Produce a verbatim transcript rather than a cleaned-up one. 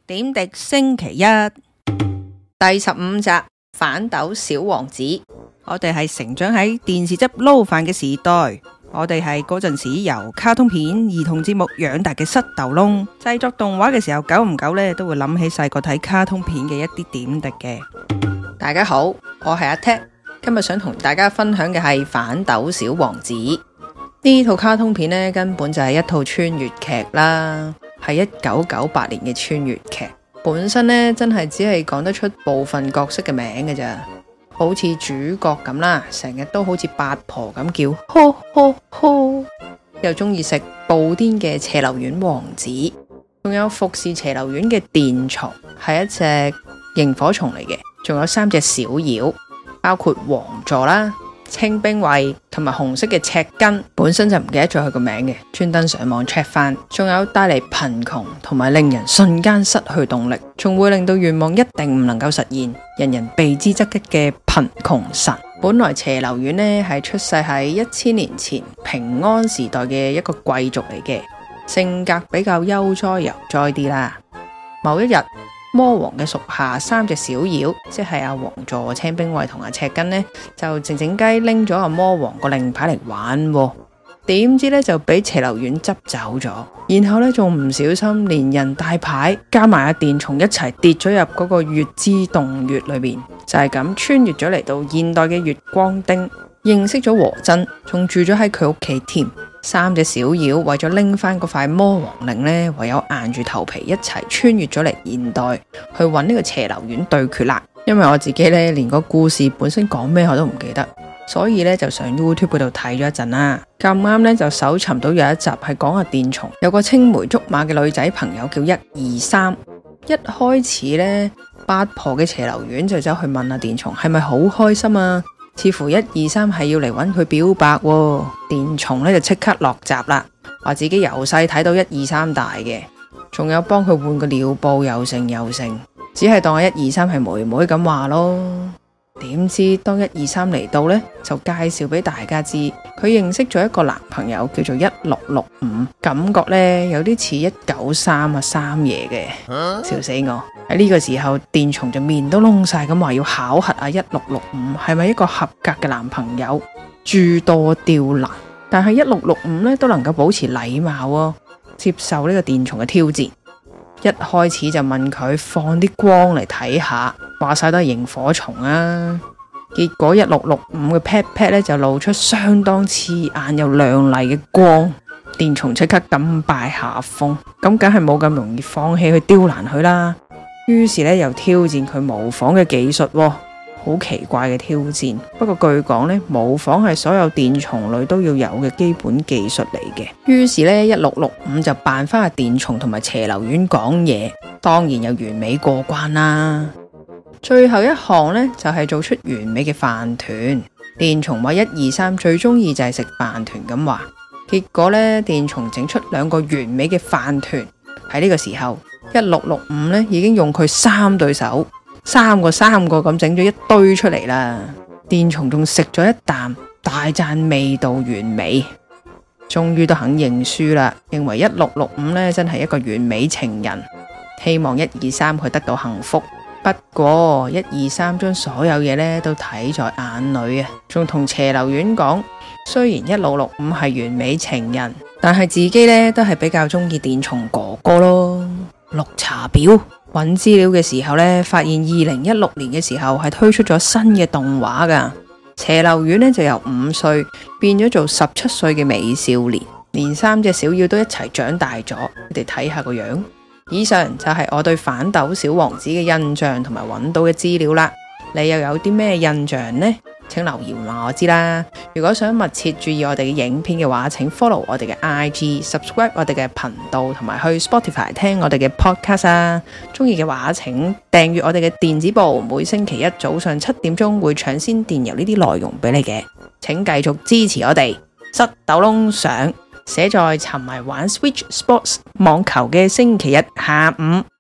點滴星期一第十五集反斗小王子。我哋係成長喺電視汁撈飯嘅時代，我哋係嗰陣時由卡通片、兒童節目養大嘅塞豆窿。製作動畫嘅時候，久唔久呢都會諗起細個睇卡通片嘅一啲點滴嘅。大家好，我係阿 Ted， 今日想同大家分享嘅係反斗小王子。呢套卡通片呢，根本就係一套穿越劇啦，係一九九八年嘅穿越劇。本身呢，真係只係講得出部分角色嘅名嘅咋，好似主角咁啦，成日都好似八婆咁叫，呵呵呵，又中意食布甸嘅斜流丸王子，仲有服侍斜流丸嘅電蟲，係一隻螢火蟲嚟嘅，仲有三隻小妖，包括王座啦、清兵衛同埋紅色嘅赤根，本身就唔記得咗佢個名嘅，專登上網 check 翻。仲有帶嚟貧窮同埋令人瞬間失去動力，仲會令到願望一定唔能夠實現，人人避之則吉嘅貧窮神。本來斜流丸呢係出世喺一千年前平安時代嘅一個貴族嚟嘅，性格比較悠哉悠哉啲啦。某一日，魔王嘅屬下三隻小妖，即係阿王座、青兵衛同阿赤根呢，就靜靜雞拎咗阿魔王個令牌嚟玩，點知呢就俾斜流丸執走咗，然後呢仲唔小心連人帶牌加埋阿電蟲一齊跌咗入嗰個月之洞穴裏面，就係咁穿越咗嚟到現代嘅月光町，認識咗和真，仲住咗喺佢屋企添。三隻小妖為咗拎翻嗰塊魔王令呢，唯有硬住頭皮一齊穿越咗嚟現代去揾呢個斜流丸對決啦。因為我自己呢，連個故事本身講咩我都唔記得，所以呢，就上 YouTube 嗰度睇咗一陣啦。咁啱呢，就搜尋到有一集係講阿電蟲有個青梅竹馬嘅女仔朋友叫一二三。一開始呢，八婆嘅斜流丸就走去問阿電蟲係咪好開心啊，似乎一二三係要嚟揾佢表白喎。電蟲呢就即刻落閘啦，話自己由細睇到一二三大嘅，仲有幫佢換個尿布又成又成，只係當一二三係妹妹咁話咯。點知當一二三嚟到呢，就介紹俾大家知佢認識咗一個男朋友叫做一六六五，感覺呢有啲似一九三啊三爺嘅，笑死我。喺呢個時候，電蟲就面都窿晒咁話要考核啊一六六五係咪一個合格嘅男朋友，諸多刁難。但係一六六五呢都能夠保持禮貌喎，接受呢個電蟲嘅挑戰。一開始就問佢放啲光嚟睇下，話晒都係螢火蟲啊。結果一六六五嘅 pat pat 咧就露出相當刺眼又亮麗嘅光，電蟲即刻甘拜下風，咁梗係冇咁容易放棄去刁難佢啦。於是咧又挑戰佢模仿嘅技術喎，好奇怪嘅挑戰。不過據講咧，模仿係所有電蟲類都要有嘅基本技術嚟嘅。於是咧一六六五就扮翻阿電蟲同埋斜流丸講嘢，當然又完美過關啦。最後一項呢，就係、是、做出完美嘅飯團。電蟲話一二三最中意就係食飯團咁話，結果呢，電蟲整出兩個完美嘅飯團。喺呢個時候，一六六五呢已經用佢三對手，三個三個咁整咗一堆出嚟啦。電蟲仲食咗一啖，大讚味道完美，終於都肯認輸啦，認為一六六五呢真係一個完美情人，希望一二三佢得到幸福。不過一二三將所有嘢呢都睇在眼裏啊，仲同斜流丸講，雖然一六六五係完美情人，但係自己呢都係比較中意電蟲哥哥咯。綠茶婊揾資料嘅時候呢，發現二零一六年嘅時候係推出咗新嘅動畫噶，斜流丸呢就由五歲變咗做十七歲嘅美少年，連三隻小妖都一齊長大咗，你哋睇下個樣。以上就係我對反斗小王子嘅印象同埋揾到嘅資料啦，你又有啲咩印象呢？請留言話我知啦。如果想密切注意我哋嘅影片嘅話，請 follow 我哋嘅 I G、subscribe 我哋嘅頻道，同埋去 Spotify 聽我哋嘅 podcast 啊。中意嘅話，請訂閱我哋嘅電子報，每星期一早上七點鐘會搶先電郵呢啲內容俾你嘅。請繼續支持我哋，塞豆窿上。寫在沉迷玩 Switch Sports 網球嘅星期日下午。